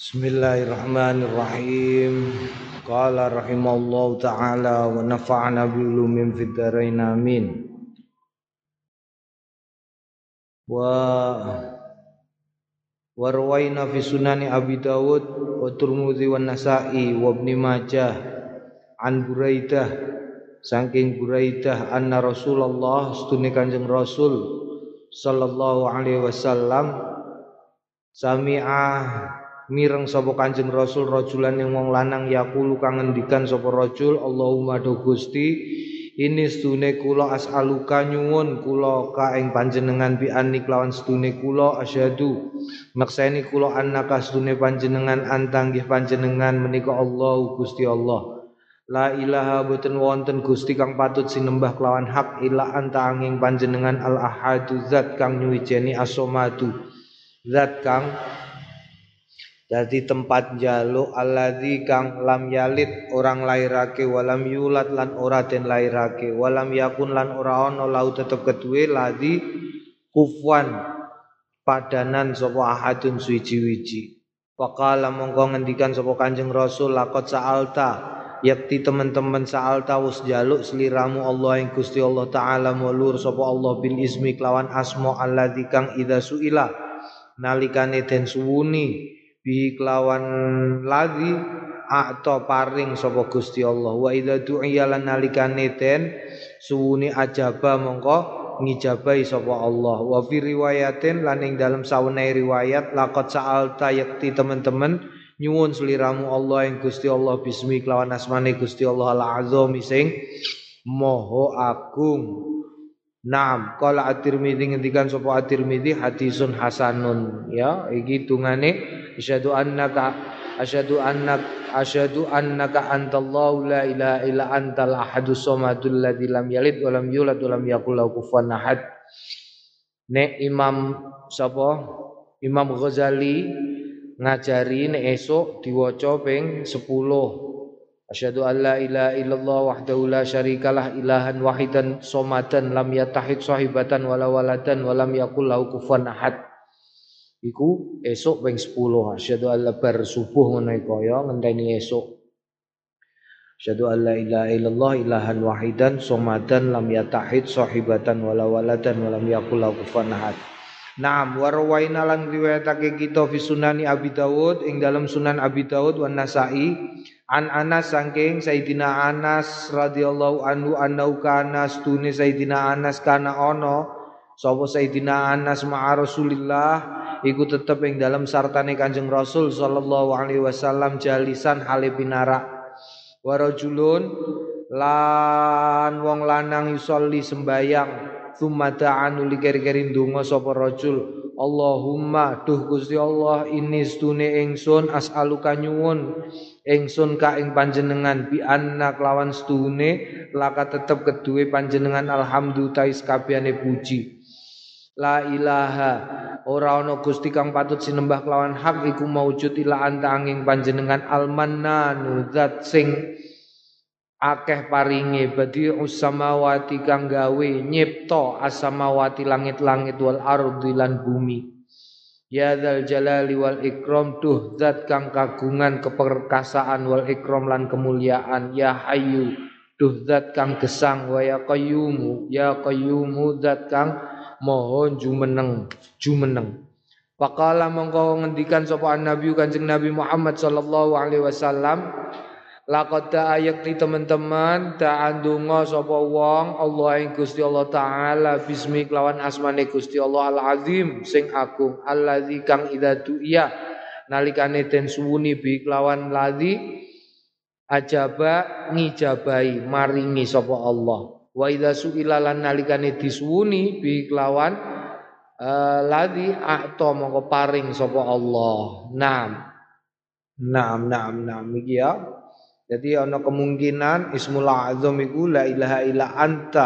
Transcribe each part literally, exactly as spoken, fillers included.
Bismillahirrahmanirrahim. Qala rahimallahu ta'ala wa nafa'ana bi ulumin fid dharain amin. Wa warwaina fi sunani Abi Dawud wa Tirmidzi wa Nasa'i wa Ibnu Majah an Buraidah saking Buraidah anna Rasulullah stune Kanjeng Rasul sallallahu alaihi wasallam sami'ah mireng sapa Kanjeng Rasul rajulan yang wong lanang yaqulu kang ngendikan sapa rajul Allahumma do Gusti ini stune kula as'aluka nyuwun kula ka ing panjenengan bi anni kelawan stune kula asyhadu makseni kula annaka stune panjenengan antanggih panjenengan menika Allah Gusti Allah la ilaha boten wonten Gusti kang patut sinembah kelawan hak ila anta angin panjenengan al ahadu zat kang nyuwijeni as-somadu zat kang dadi tempat jaluk alladzi kang lam yalid orang lairake walam yulat lan ora den lairake walam yakun lan ora ana lau tetep keduwe ladzi kufwan padanan sapa ahadun suwiji-wiji faqala mongko ngendikan sapa Kanjeng Rasul laqad sa'alta yakti teman-teman sa'alta wis jaluk sliramu Allah ing Gusti Allah taala mulur sapa Allah bil ismi kelawan asma alladzi kang idza suila nalikane den suwuni bi kelawan ladzi atau paring sapa Gusti Allah wa idza du'iya lan nalikane den suwuni ajaba mongko ngijabahi sapa Allah wa fi riwayatin lan ing dalem sawenehe riwayat laqad sa'alta yakti teman-teman nyuwun sliramu Allah ing Gusti Allah bismi kelawan asmane Gusti Allah al-azam sing maha agung. Naam, qala at-Tirmidzi ngendikan sapa at-Tirmidzi hadisun hasanun ya iki tungane asyhadu annaka asyhadu annaka asyhadu annaka antallahu la ilaha illa antal ahadus samadul ladzi lam yalid wa lam yulad wa lam yakul lahu kufuwan ahad. Nek Imam sapa Imam Ghazali ngajari nek esuk diwaca ping sepuluh. Asyhadu an la ilaha illallah wahdahu la syarikalah ilahan wahidan somadan lam yatahid sahibatan wala waladan walam yakul lahu kufuwan ahad. Iku esuk ping sepuluh. Asyhadu an la bar subuh ngono iku ya ngenteni esuk. Asyhadu an la ilaha illallah ilahan wahidan somadan lam yatahid sahibatan wala waladan walam yakul lahu kufuwan ahad. Naam warwaina lan riwayatake kita fi sunani Abi Dawud ing dalam Sunan Abi Dawud wan Nasa'i an Anas saking Sayyidina Anas radhiyallahu anhu annau kana stune Sayyidina Anas kana ono sapa Sayyidina Anas ma'a Rasulillah iku tetep ing dalam sartane Kanjeng Rasul sallallahu alaihi wasallam jalisan hale pinarak wa rajulun lan wong lanang yusolli sembayang tsumma ta'anu likir-kirin donga sapa rajul Allahumma duh Gusti Allah ini stune ingsun as'aluka nyuwun ingsun ka ing panjenengan bi anna kelawan stune laka tetep keduwe panjenengan alhamdulillah tais kabehane puji la ilaha ora ana Gusti kang patut sinembah kelawan hak iku maujud ila anta angin panjenengan almannanu zat sing akeh paringe badi'us samawati kang gawe nyipta as-samawati langit-langit wal ardi lan bumi ya dzal jalali wal ikram duh zat kang kagungan keperkasaan wal ikram lan kemuliaan ya hayyu duh zat kang gesang wa ya qayyumu ya qayyumu zat kang maha jumeneng jumeneng faqala mongko ngendikan sapa nabi Kanjeng Nabi Muhammad sallallahu alaihi wasallam laqad ayakti teman-teman ta'andunga sapa wong Allah ing Gusti Allah taala bismi kelawan asmane Gusti Allah al-azim sing agung allazi kang idza du'iya nalikane den suwuni bi kelawan ladzi ajaba ngijabahi maringi sapa Allah wa idza su'ila lan nalikane disuwuni bi kelawan uh, ladzi ato mongko paring sapa Allah. Naam naam naam naam iki ya. Jadi ana kemungkinan Ismul Azam iku la ilaha illa anta.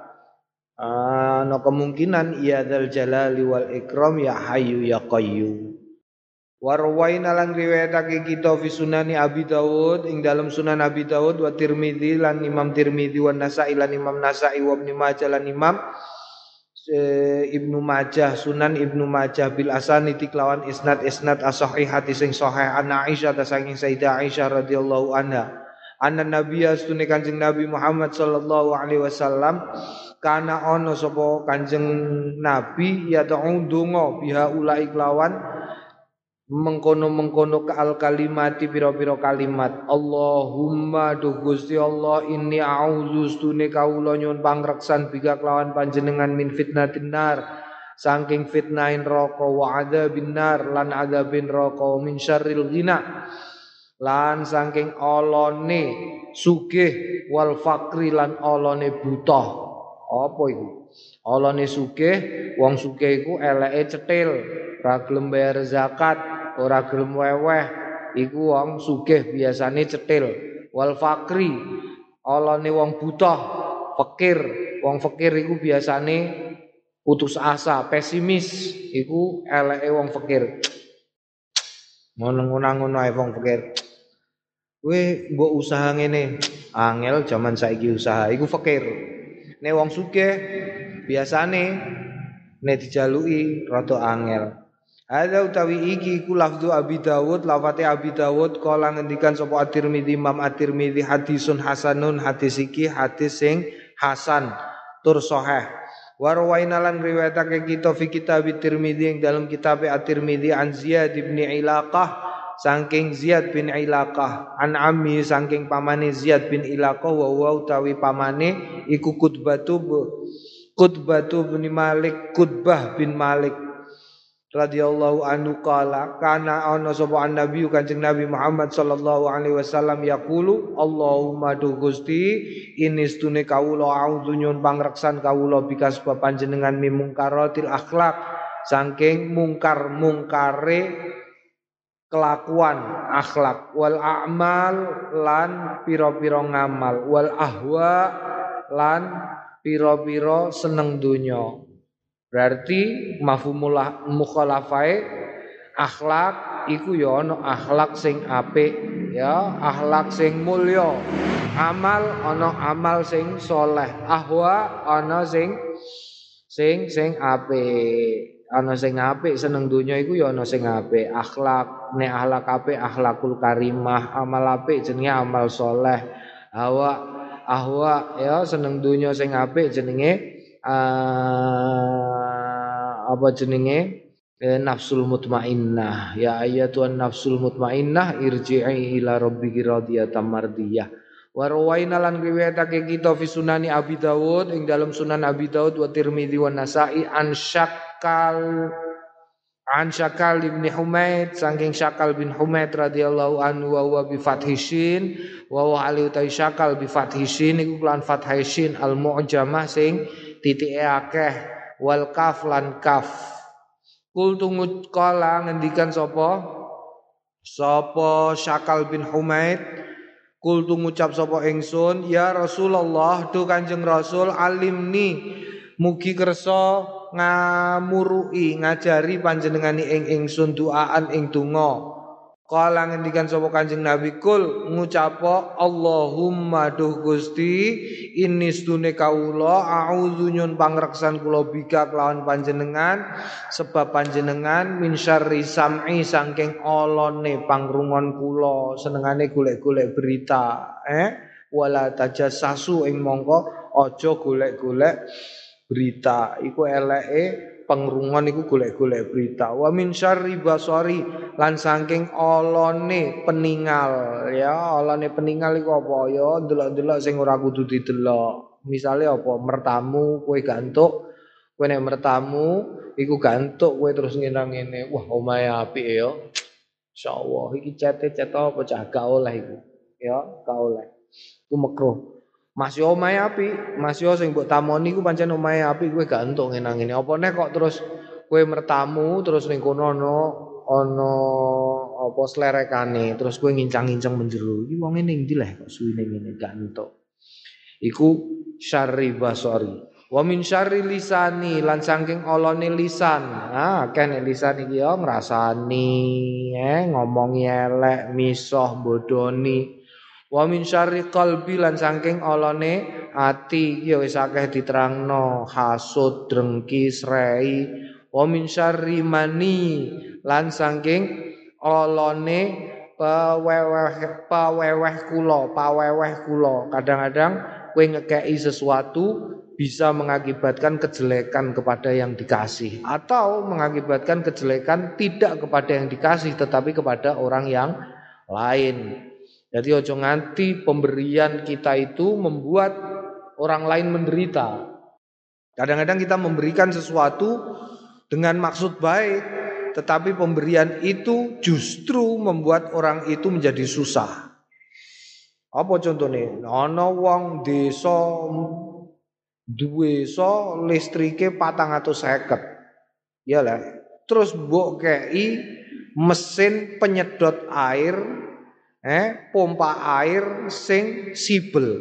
Ana kemungkinan ya dzal jalali wal ikram ya hayyu ya qayyum. Warwaina lan riwayatake kita fi sunani Abi Dawud ing dalam Sunan Abi Dawud wa Tirmidzi lan Imam Tirmidzi wa Nasa'i lan Imam Nasa'i wa Ibnu Majah lan Imam Ibnu Majah, Sunan Ibnu Majah bil asanidi kelawan isnad isnad as-sahihati sing sahih an Aisyah ta saking Sayyidah Aisyah radhiyallahu anha. Anna nabiyya stune Kanjeng Nabi Muhammad sallallahu alaihi wasallam kana ono sapa Kanjeng Nabi ya ta'u donga biha ulai kelawan mengkono-mengkono kaal kalimati pira-pira kalimat. Allahumma do Gusti Allah inni a'udzu stune kawula nyuwun pangreksan bika kelawan panjenengan min fitnatin nar saking fitnahin neraka wa adzabin nar lan adzabin neraka min syarril ghina lan saking olone sugih wal fakri lan olone buta. Apa iku? Olone sugih, wong sugih iku eleke cetil, ora gelem bayar zakat, ora gelem weweh, iku wong sugih biasane cetil. Wal fakri, olone wong buta, fakir, wong fakir iku biasane putus asa, pesimis, iku eleke wong fakir. Ngono-ngono ae wong fakir. Kowe mbok usaha ngene, angel jaman saiki usaha iku fakir. Nek wong sugih biasane nek dijaluki rada angel. Ada utawi iki iku lafzu Abi Dawud, lafate Abi Dawud kala ngendikan sapa At-Tirmidzi Imam At-Tirmidzi hadisun hasanun, hadis iki hadis sing hasan tur sahih. Wa rawaina lan riwayatake kita fi kitab At-Tirmidzi ing dalam kitab At-Tirmidzi an Ziyad bin Ilaqah saking Ziyad bin Ilaqah an ammi saking pamane Ziyad bin Ilaqah wa wa utawi pamane iku Qutbatu Qutbatu bin Malik Qutbah bin Malik radhiyallahu anhu qala kana ana sapa nabi Kanjeng Nabi Muhammad sallallahu alaihi wasallam yaqulu Allahumma du Gusti inistune kawula a'udzu nyun pangreksan kawula bikas panjenengan mimungkaratil akhlak saking mungkar-mungkare kelakuan akhlak wal a'mal lan pira-pira ngamal wal ahwa lan pira-pira seneng donya. Berarti mafhumul mukhalafai akhlak iku ya ana akhlak sing apik ya, akhlak sing mulya. Amal ana amal sing soleh, ahwa ana sing sing sing apik. Ana sing apik seneng donya iku ya ana sing apik. Akhlak nek akhlak apik akhlakul karimah, amal apik jenenge amal soleh. Hawa ahwa ya seneng donya sing apik jenenge uh, apa jenenge eh, nafsul mutmainnah. Ya ayatuhan nafsul mutmainnah irji'i ila rabbiki radiyatan mardiyah. Wa rawaina lan riwayatake kita fi sunani Abi Dawud ing dalam sunan Abi Dawud wa Tirmidzi wa Nasa'i an Syakal an Syakal bin Humaid saking Syakal bin Humaid radhiyallahu anhu wa huwa bi fathishin wa wa ali utai Syakal bi fathishin iku lan fathishin al mu'jamah sing titike akeh wal kaf lan kaf. Kul tungut kala ngendikan sapa sapa Syakal bin Humaid kul tu ngucap sapa ingsun ya Rasulullah tu Kanjeng Rasul alimni mugi kersa ngamurui ngajari panjenengani ing ingsun doaan ing donga. Kala ngendikan sapa Kanjeng Nabi kul ngucapa Allahumma duh Gusti inni stune kaula a'udzu nyun pangreksan kula bika kelawan panjenengan sebab panjenengan min syarri sam'i saking olone pangrungon kula senengane golek-golek berita eh wala tajassasu ing mongko aja golek-golek berita iku eleke pengrungon iku golek-golek berita wa min syarri basari lan saking olone peningal ya olone peningal iku apa ya delok-delok sing ora kudu didelok misale apa mertamu kowe gantuk kowe nek mertamu iku gantuk kowe terus ngene-ngene wah omahe apik ya insyaallah iki cete-cete apa cah gak oleh iku ya gak oleh iku makruh. Masih omahe apik, masih sing mbok tamoni ku pancen omahe apik kowe gak entuk ngene-ngene. Apa nek kok terus kowe mertamu terus ning kono ana ana apa slerekane, terus kowe ngincang-ngincang menjero. Iki wong ning ndi leh kok suwine ngene gak entuk. Iku syarri basari. Wa min syarri lisani lan saking olone lisan. Ah, kene lisan iki yo ngrasani, eh ngomongi elek, misoh, bodoni. Wa min syarri qalbi lan saking olone ati ya wis akeh diterangno hasud, drengki, srei. Wa min syarri mani lan saking olone paweweh paweweh kula, paweweh kula. Kadang-kadang kowe ngekeki sesuatu bisa mengakibatkan kejelekan kepada yang dikasih atau mengakibatkan kejelekan tidak kepada yang dikasih tetapi kepada orang yang lain. Jadi ojo nganti pemberian kita itu membuat orang lain menderita. Kadang-kadang kita memberikan sesuatu dengan maksud baik, tetapi pemberian itu justru membuat orang itu menjadi susah. Apa contohnya? Ana wong desa duwe so listrike patang atus seket. Ya lah. Terus mbok kei mesin penyedot air, eh pompa air sing sibel.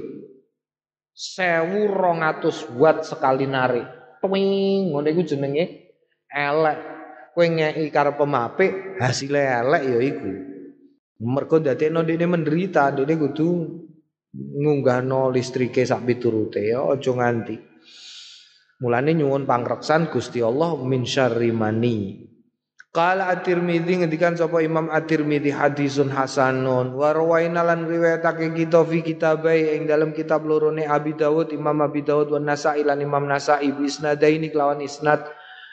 sewu rong atus watt sekali narik. Twing, ngono iku jenenge elek. Kowe ngeki karo pemapik, hasilé elek ya iku. Mergo dadekno dene menderita, dene kudu ngunggahno listrike sak piturute ya aja nganti. Mulane nyuwun pangreksan Gusti Allah min syarri mani. Qala At-Tirmidzi ngendikan sapa Imam At-Tirmidzi hadisun hasanun wa rawaina lan riwayatake kita fi kitabai ing dalam kitab lorone Abi Dawud Imam Abi Dawud wa Nasa'i lan Imam Nasa'i bi isnadaini kelawan isnad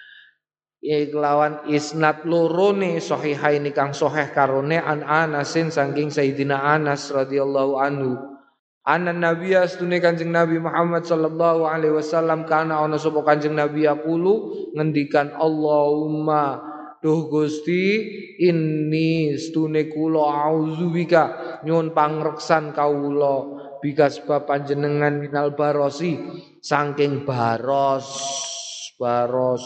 kelawan isnad lorone sahihaini kang sahih karone an Anasin saking Sayyidina Anas radhiyallahu anhu. Anna Nabiya astune Kanjeng Nabi Muhammad sallallahu alaihi wasallam kana ana sapa Kanjeng Nabi yaqulu ngendikan Allahumma duh Gusti inni stune kula auzubika nyuwun pangreksan kawula bika sebab panjenengan minal barosi saking baros baros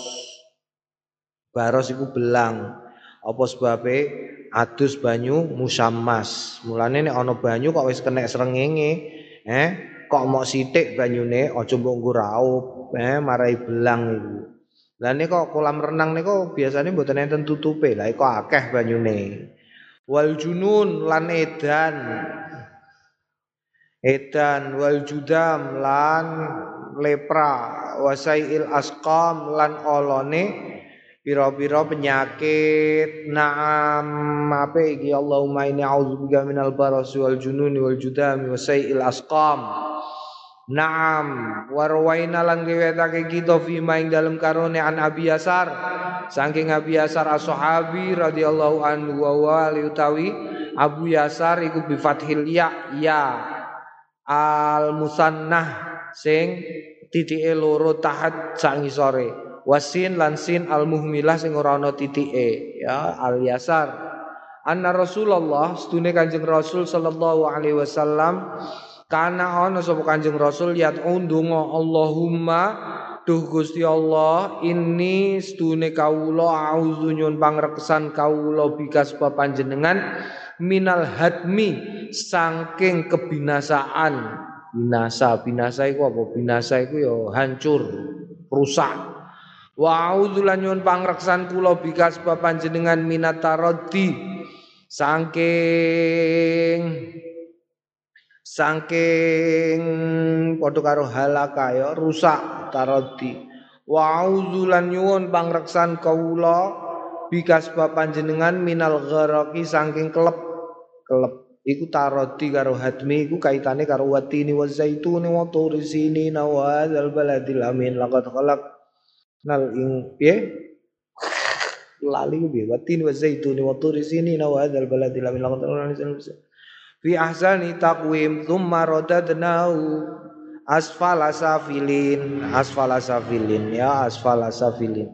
baros iku belang apa sebabe adus banyu musammas mulane nek ana banyu kok wis kena srengenge eh kok mok sithik banyune aja mbok nggo raup eh marai belang iku. Lah nek kok kolam renang niku biasane mboten enten tutupe. Lah kok akeh banyune. Wal junun lan edan. Edan wal judam lan lepra, wasaiil asqam lan olone pira-pira penyakit. Naam apa iki Allahumma inni a'udzubika minal barasi wal jununi wal judami wasaiil asqam. Naam warwaina lan riwayatake kita fi maing dalem karone an Abi Yasar saking Abi Yasar as-sahabi radhiyallahu anhu wa utawi Abu Yasar iku bi fathil ya ya al musannah sing titike loro tahat sak ngisore wasin lan sin al muhmilah sing ora ana titike ya al Yasar anna Rasulullah sedune Kanjeng Rasul sallallahu alaihi wasallam kana ana sapa Kanjeng Rasul yat ndonga Allahumma duh Gusti Allah inni stune kawula auzu nyun pangreksan kawula bika sebab panjenengan minal hadmi saking kebinasaan. Binasa binasa iku apa binasa iku ya hancur rusak. Wa auzu lan nyun pangreksan kula bika sebab panjenengan minat taraddi saking saking padha karo halaka ya rusak tarodi wa auzulan nyuwun pangreksan kawula bika sebab panjenengan minal gharaqi saking kelep kelep iku tarodi karo hadmi iku kaitane karo watini wazaituni wa turisini nawadzal baladil amin laqad khalaqnal ing piye lali ku piye watini wazaituni wa turisini nawadzal baladil amin laqad khalaqnal fi ahsani taqwim thumma radadnahu asfala safilin asfala safilin ya asfala safilin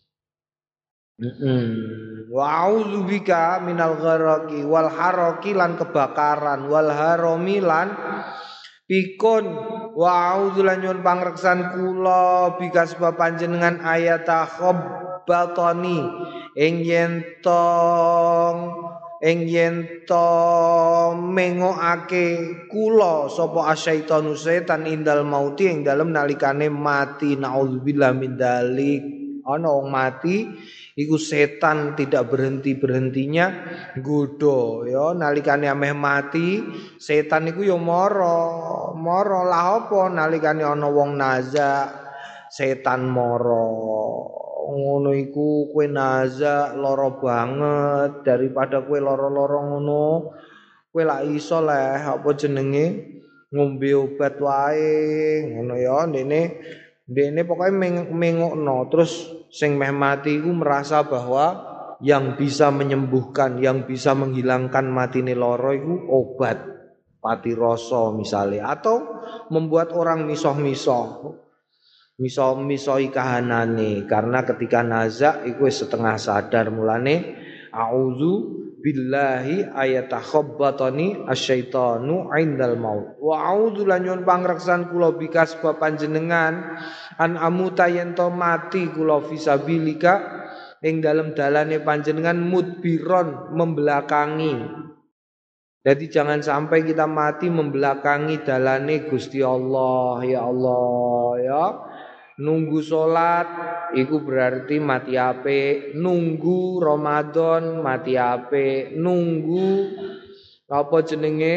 heeh wa a'udzu bika minal gharaqi wal haraqi lan kebakaran wal harami lan pikun wa a'udzu lan nyuwun pangreksan kula bika sebab panjenengan ayata khabbatani ing yen tong ing yen to mengokake kula sapa asyaitanu setan indal mauti ing dalem nalikane mati naudzubillah min dalik Ana wong mati iku setan tidak berhenti-berhentinya nggodha ya nalikane ameh mati setan iku ya mara mara lah apa nalikane ana wong naza setan mara ngono iku kowe naza lara banget daripada kowe lara-lara ngono kowe lak iso leh apa jenenge ngombe obat wae ngono ya ndene ndene pokoke mengokno terus sing meh mati iku merasa bahwa yang bisa menyembuhkan yang bisa menghilangkan matine lara iku obat pati rasa misalnya atau membuat orang misoh-misoh misoh-misohi kahanane karena ketika nazak iku setengah sadar mulane auzu billahi ayatakhabbatani asyaitanu indal maut wa a'udzu lan nyuwun pangreksan kula bikas sebab panjenengan an amuta yen to mati kula fisabilika ing dalem dalane panjenengan mudbiron membelakangi. Jadi jangan sampai kita mati membelakangi dalane Gusti Allah ya Allah ya. Nunggu salat iku berarti mati apik, nunggu Ramadan mati apik, nunggu apa jenenge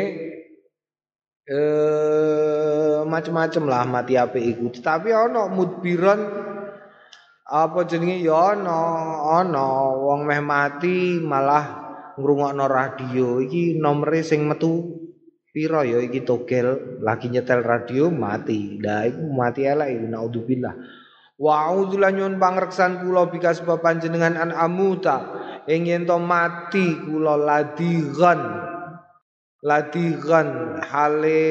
eh macam-macam lah mati apik iku. Tetapi ana mudbiron apa jenenge ya ana ana wong meh mati malah ngrungokno radio iki nomere sing metu piro ya iki togel lagi nyetel radio mati. Lah iku mati elek iki naudzubillah. Wa a'udzu lan pangreksan kula bika sebab panjenengan an amuta ing yen to mati kula ladigan. Ladigan hale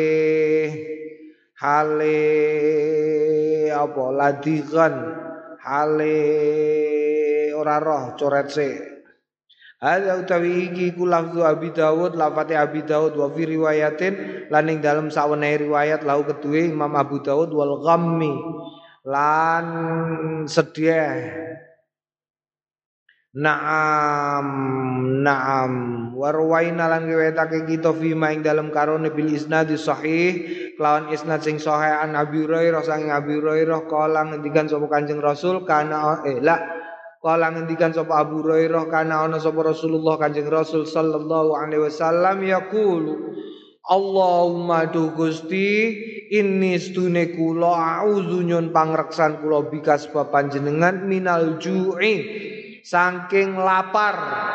hale apa ladigan hale ora roh coret sik. Ada utawi iki ku lafzu Abi Dawud lafate Abi Dawud wa fi riwayatin lan ing dalem sawenehe riwayat lahu kedue Imam Abu Dawud wal ghammi lan sedih Naam naam warwaina lan riwayatake kita fi ma ing dalem karone bil isnad sahih kelawan isnad sing sahih an Abi Hurairah sang Abi Hurairah kala ngendikan sapa Kanjeng Rasul kana eh la kala ngendikan sapa Abu Hurairah kana ana sapa Rasulullah Kanjeng Rasul sallallahu alaihi wasallam yaqulu Allahumma du Gusti inni stune kula auzu nyun pangreksan kula bika sebab panjenengan minal ju'i saking lapar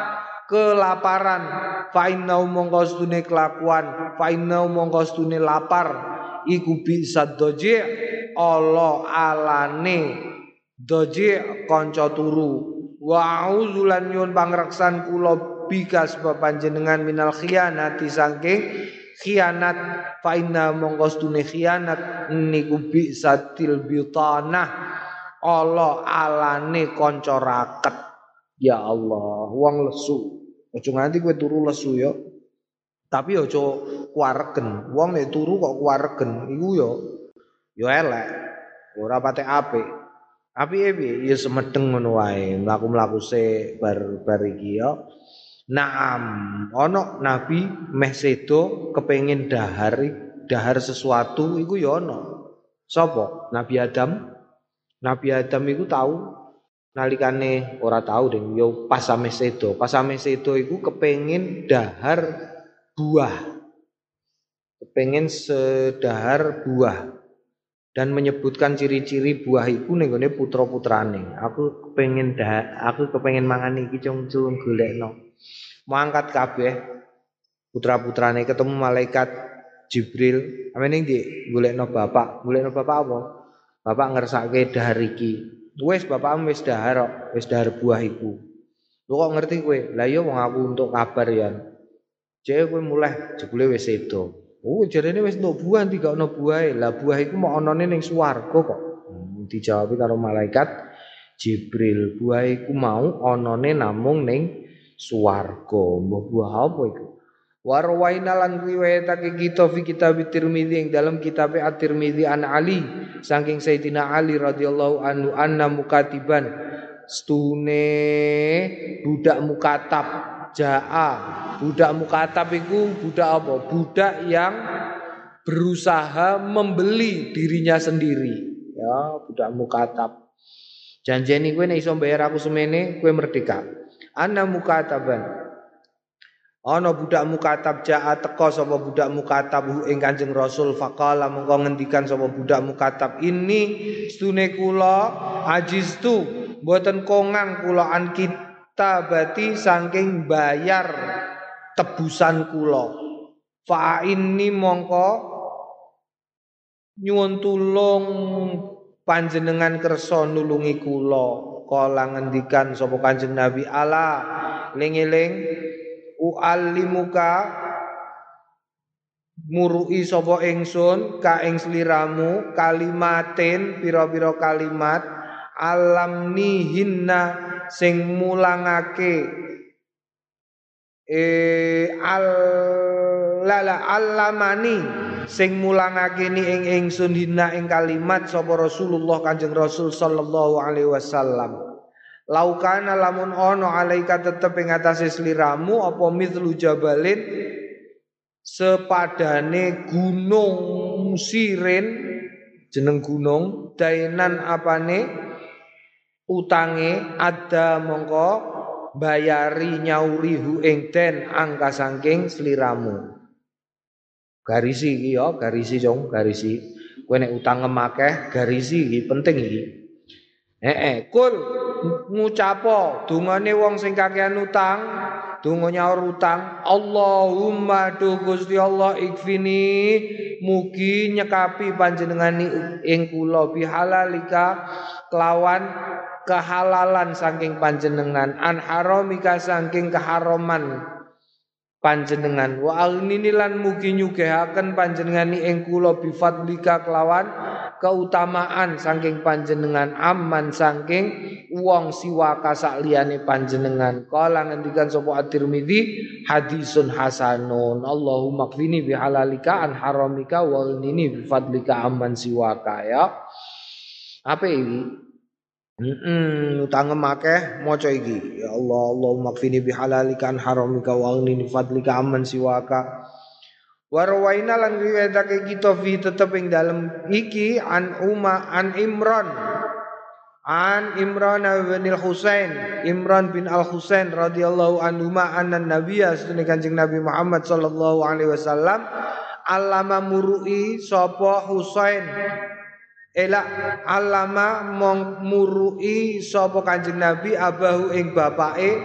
kelaparan fa inna mongko stune kelakuan fa inna mongko stune lapar iku bisa doji Allah alane doji kanca turu wa auzulan nyun pangreksan kula bika sebab panjenengan minal khianati saking khianat fa inna mongko stune khianat niku bisa til bitanah Allah alane kanca raket. Ya Allah, wong lesu. Aja nganti kowe turu lesu ya. Tapi aja kuwaregen. Wong nek turu kok kuwaregen iku ya ya elek. Ora patek apik. Apike piye? Ya semedeng ngono wae. Mlaku-mlaku sik bar-bar iki ya. Naam, ana nabi meh sedo kepengin dahar dahar sesuatu iku ya ana. Sapa? Nabi Adam. Nabi Adam iku tahu nalikane ora tahu ding yo pas ame sedo pas ame sedo iku kepengin dahar buah kepengin sedahar buah dan menyebutkan ciri-ciri buah iku ning gone putra-putrane aku kepengin dah aku kepengin mangan iki cung-cung golekno mau angkat kabeh putra-putrane ketemu malaikat Jibril amene ndi golekno bapak golekno bapak apa bapak ngersake dahar iki wis bapakmu wis dahar kok, wis dahar buah iku. Lu kok ngerti kowe? Lah iya wong aku untuk kabar ya. Jek kowe mulai jebule wis sedo. Oh, jarene wis entuk buah tiga ono buahe. Lah buah iku mok onone ning swarga kok. Hmm, dijawab karo malaikat Jibril. Buah iku mau onone namung ning swarga. Mbah buah apa iku? Warwaina lan riwayatake kita fi kitab Tirmidzi ing dalam kitab At-Tirmidzi an Ali saking Sayyidina Ali radhiyallahu anhu anna mukatiban stune budak mukatab jaa budak mukatab iku budak apa budak yang berusaha membeli dirinya sendiri ya budak mukatab Janjeni kowe nek iso bayar aku semene, kowe merdeka. Ana mukataban. Ana budak mukatab jaa teka sapa budak mukatab ing Kanjeng Rasul faqala mengko ngendikan sapa budak mukatab ini stune kula ajistu mboten kongang kula an kita bati saking bayar tebusan kula fa inni mongko nyuwun tulung panjenengan kersa nulungi kula kala ngendikan sapa Kanjeng Nabi ala ling-eling u'allimuka murui sapa ingsun ka ing sliramu kalimatin pira-pira kalimat alamnihinna sing mulangake eh al lala alamani sing mulangake ni ing ingsun hinna ing kalimat sapa Rasulullah Kanjeng Rasul sallallahu alaihi wasallam. Laukana lamun ono alaika tetep ing atase sliramu apa mithlu jabalin sepadane gunung sirin jeneng gunung dainan apane utange ada mongko bayari nyauri hu ing den angka saking sliramu. Garisi iki ya, garisi jong, garisi. Kowe nek utang ngemakeh garisi iki penting iki. Heeh, kul ngucapo dungane wong sing kakean utang, donga nyaur utang, Allahumma du Gusti Allah ikfini mugi nyekapi panjenengani ing kula bihalalika kelawan kehalalan saking panjenengan an haramika saking keharaman panjenengan wa aghnini lan mugi nyugehaken panjenengani ing kula bifadlika kelawan keutamaan saking panjenengan aman saking wong siwaka sak liyane panjenengan kala ngendikan sapa at-Tirmidzi hadisun hasanun Allahumma qfini bihalalika an haramika wa aghnini bifadlika aman siwaka ya apa iki heeh utang akeh maca iki ya Allah Allahumma qfini bihalalika an haramika wa aghnini bifadlika aman siwaka. Warwaina lan riwayatake kita fi tetep ing dalem iki an Uma an Imran an Imran bin Al-Husain Imran bin Al-Husain radhiyallahu anhu ma anna nabiyya sunne Kanjeng Nabi Muhammad sallallahu alaihi wasallam allama murui sapa Husain ela allama mong murui sapa Kanjeng Nabi abahu ing bapake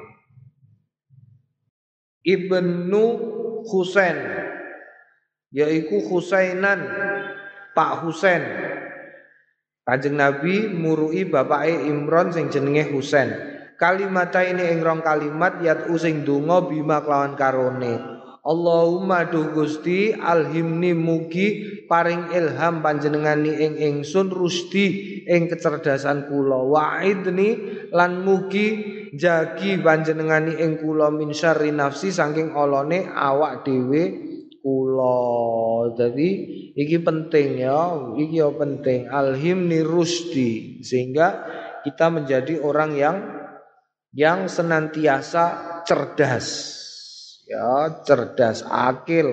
Ibnu Husain yaiku Husainan Pak Husain. Kanjeng Nabi murui bapake Imran sing jenenge Husain. Kalimata ini ing rong kalimat yat using donga bima kelawan karone. Allahumma duh Gusti alhimni mugi paring ilham panjenengani ing ingsun rusdi ing kecerdasan kula wa'idni lan mugi jagi panjenengani ing kula min syarri nafsi saking olone awak dhewe kula. Jadi iki penting ya, iki ya penting alhimni rusdi sehingga kita menjadi orang yang yang senantiasa cerdas. Ya, cerdas, akil.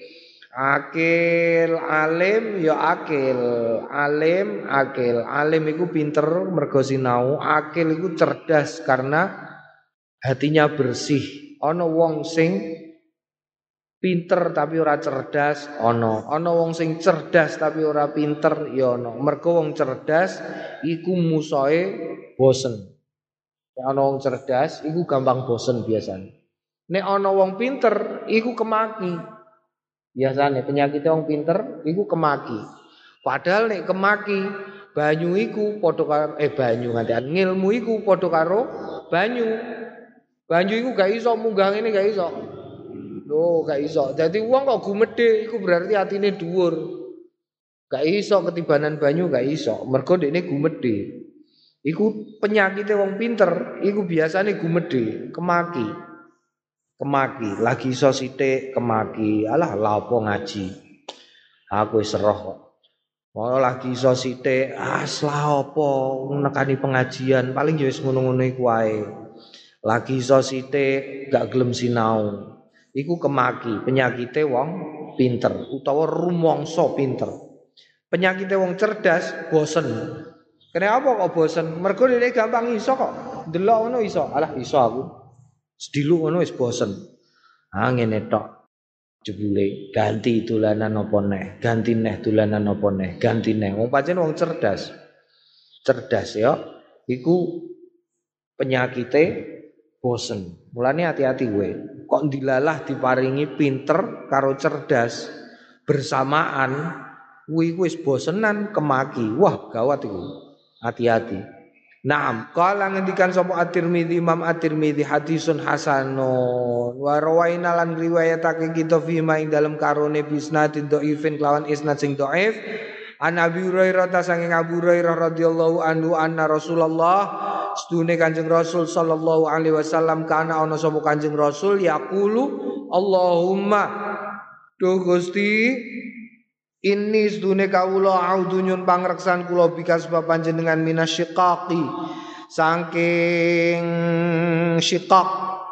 Akil, alim ya akil. Alim, akil. Alim iku pinter mergo sinau, akil iku cerdas karena hatinya bersih. Ana wong sing pinter tapi ora cerdas ana ana wong sing cerdas tapi ora pinter ya ana mergo wong cerdas iku musuhe bosen nek ana wong cerdas iku gampang bosen biasane nek ana wong pinter iku kemaki biasane penyakit wong pinter iku kemaki padahal nek kemaki banyu iku padha karo eh banyu ngantian ngilmu iku padha karo banyu banyu iku gak iso munggah ngene gak iso. Loh, gak iso. Dadi wong kok gumedhe iku berarti atine dhuwur. Gak iso ketibanan banyu gak iso. Mergo dekne gumedhe. Iku penyakite wong pinter, iku biasane gumedhe, kemaki. Kemaki, lagi iso sithik kemaki. Alah, lha apa ngaji. Aku wis roh kok. Mau lagi iso sithik, ah lha apa nekani pengajian, paling ya wis ngono-ngono iku wae. Lagi iso sithik gak gelem sinau. Iku kemaki, penyakite wong pinter utawa rumangsa pinter. Penyakite wong cerdas bosen. Kenapa kok bosen? Mergo dhek gampang iso kok. Delok ngono iso. Alah iso aku. Sediluk ngono wis bosen. Ah ngene tok. Jebule ganti dolanan apa neh, ganti neh dolanan apa neh, ganti neh. Wong pancen wong cerdas. Cerdas ya. Iku penyakite bosen. Mulane hati-hati kowe. Kok dilalah diparingi pinter karo cerdas bersamaan, kuwi wis bosenan kemaki. Wah, gawat iku. Hati-hati. Naam, qala ngendikan sapa At-Tirmidzi Imam At-Tirmidzi hadisun hasanun wa rawaina lan riwayatake kita fi ma ing dalem karone bisnadin dhaifin kelawan isnad sing dhaif an Abi Hurairah ta saking Abu Hurairah radhiyallahu anhu anna Rasulullah sedune Kanjeng Rasul sallallahu alaihi wasallam kana ana sapa Kanjeng Rasul yaqulu Allahumma duh Gusti ini sedune kawula audu nyun pangreksan kula bikas sebab panjenengan minasyiqaqi saking syiqaq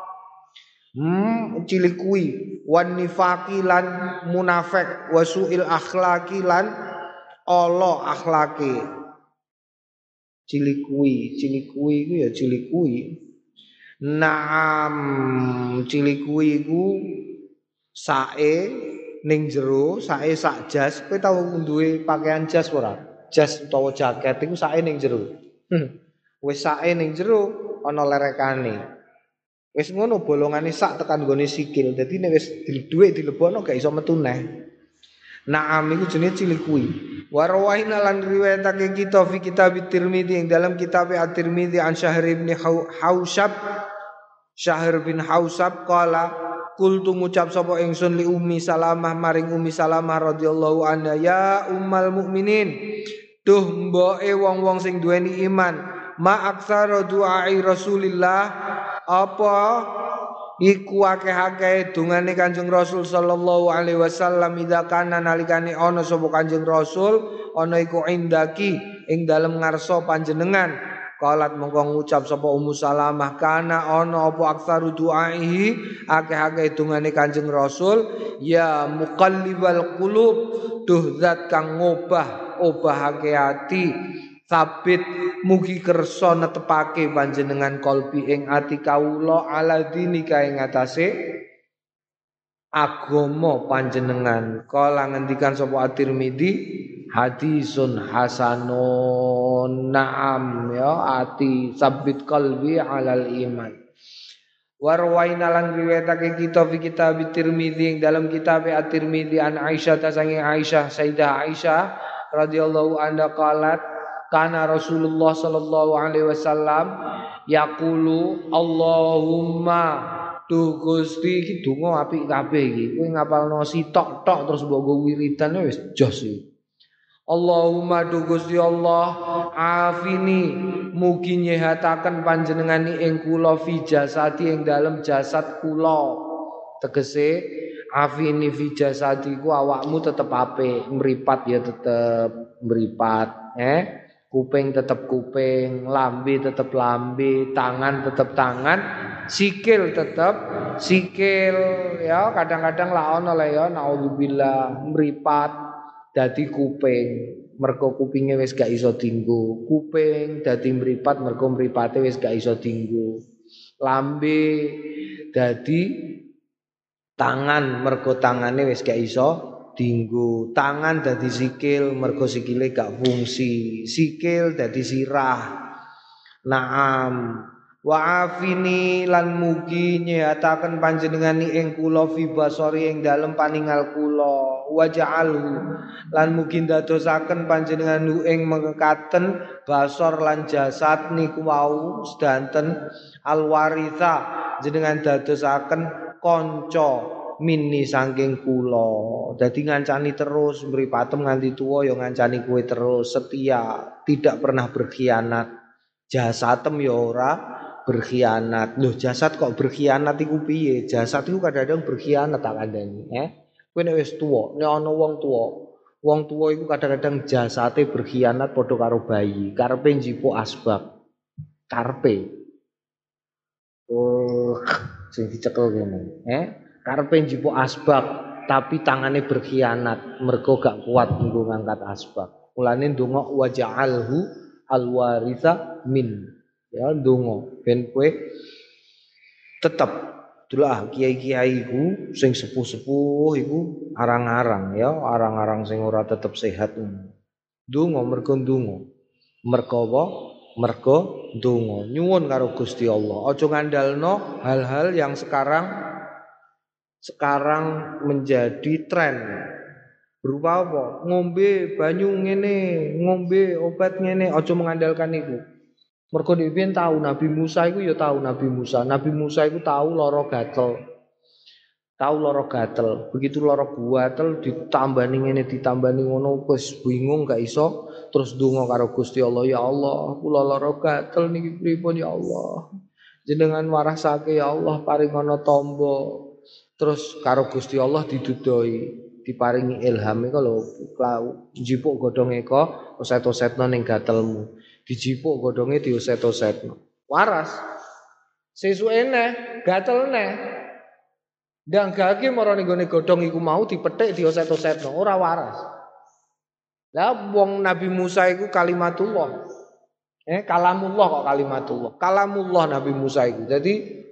hmm cilik kuwi wan nifaqi lan munafik wasuil akhlaqi lan ala akhlake cilik kuwi cilik kuwi iku ya cilik kuwi naam cilik kuwi iku sae ning jero sae sak jas kowe tau duwe pakaian jas ora jas utawa jaket iku sae ning jero hmm. Wis sae ning jero ana lerekane wis ngono bolongane sak tekan gone sikil dadi nek wis duwe dilebokno gak iso metu neh naam iku jenenge cilik kuwi wa rawaina lan riwayatake kita fi kitab Tirmidzi ing dalam kitab At-Tirmidzi an Syahr bin Hausab Syahr bin Hausab qala Kultu ngucap sapa ingsun li Ummi Salamah maring Ummi Salamah radhiyallahu anha ya ummal mukminin duh mboke wong-wong sing duweni iman ma aksara du'ai Rasulillah apa iku akeh-akeh dungane Kanjeng Rasul sallallahu alaihi wasallam ida kana nalikane ana sapa Kanjeng Rasul ana iku indaki ing dalem ngarsa panjenengan Qalat mongko ngucap sapa Ummu Salamah kana ana apa aksaru du'aihi akeh-akeh dungane Kanjeng Rasul ya muqallibal qulub duh zat kang ngobah obahake ati sabit mugi kersa netepake panjenengan kalbi ing ati kawula ala dinika ing atase agama panjenengan kala ngendikan sapa At-Tirmidzi hadisun hasanun na'am ya ati sabit qalbi alal iman warwaina lan riwayatake kita fi kitab Tirmidzi dalam kitab At-Tirmidzi an Aisyah ta sange Aisyah Sayyidah Aisyah radhiyallahu anha qalat kana Rasulullah sallallahu alaihi wasallam yaqulu Allahumma tuh Gusti iki donga apik kabeh iki kowe ngapalno sitok tok terus mbok go wiridan wis jos iki Allahumma du Gusti Allah afini mugi nyehataken panjenengani ing kula fi jasadi ing dalem jasad kula tegese afini fi jasadi ku awakmu tetep apik mripat ya tetep mripat eh kuping tetep kuping lambe tetep lambe tangan tetep tangan sikil tetep sikil ya kadang-kadang la ono le ya naudzubillah mripat dadi kuping mergo kupinge wis gak iso dienggo kuping dadi mripat mergo mripate wis gak iso dienggo lambe dadi tangan mergo tangane wis gak iso dienggo tangan dadi sikil mergo sikile gak fungsi sikil dadi sirah naam wa afini lan mugi nyehataken panjenengani ing kula fi basari ing dalem paningal kula wa ja'alhu lan mugi ndadosaken panjenengan ing mengkaten basar lan jasad niku wau sedanten alwaritha jenengan dadosaken kanca mini saking kula dadi ngancani terus mripatem nganti tuwa ya ngancani kowe terus setia tidak pernah berkhianat jasadem ya ora berkhianat. Loh jasad kok berkhianat iku piye? Jasad iku kadang-kadang berkhianat tak kandhani, eh. Kowe nek wis tuwa, nek ana wong tuwa, wong tuwa iku kadang-kadang jasate berkhianat padha karo bayi, karepe njipuk asbab. Karepe. Oh, sing dicekel kene, eh. Karepe njipuk asbab, tapi tangane berkhianat, mergo gak kuat nggo ngangkat asbab. Mulane ndonga wa ja'alhu Al-waritha min. Ya ndonga ben kowe tetep itulah kiai-kiai iku sing sepuh-sepuh iku arang-arang ya, arang-arang sing ora tetep sehat. Ndonga mergo ndonga. Mergo apa? Mergo ndonga. Nyuwun karo Gusti Allah. Aja ngandalno hal-hal yang sekarang sekarang menjadi tren. Berupa apa? Ngombe banyu ngene, ngombe obat ngene, aja mengandalkan itu. Mergo dhewe tahu Nabi Musa iku ya tahu Nabi Musa. Nabi Musa iku tahu lara gatel. Tahu lara gatel. Begitu lara gatel ditambani ngene ditambani ngono wis bingung gak iso terus ndonga karo Gusti Allah, ya Allah, kula lara gatel niki pripun ya Allah. Jenengan warasake ya Allah paringono tamba. Terus karo Gusti Allah didudoi, diparingi ilham iku lho, njipuk godhonge eko oset-osetno ning gatelmu. Dijipuk godhonge dioset-osetno. Waras. Sesuke neh, gatel neh. Ndang gage marane nggone godhong iku mau dipethik dioset-osetno, ora waras. Lah wong Nabi Musa iku kalimatullah. Eh kalamullah kok kalimatullah. Kalamullah Nabi Musa iku. Jadi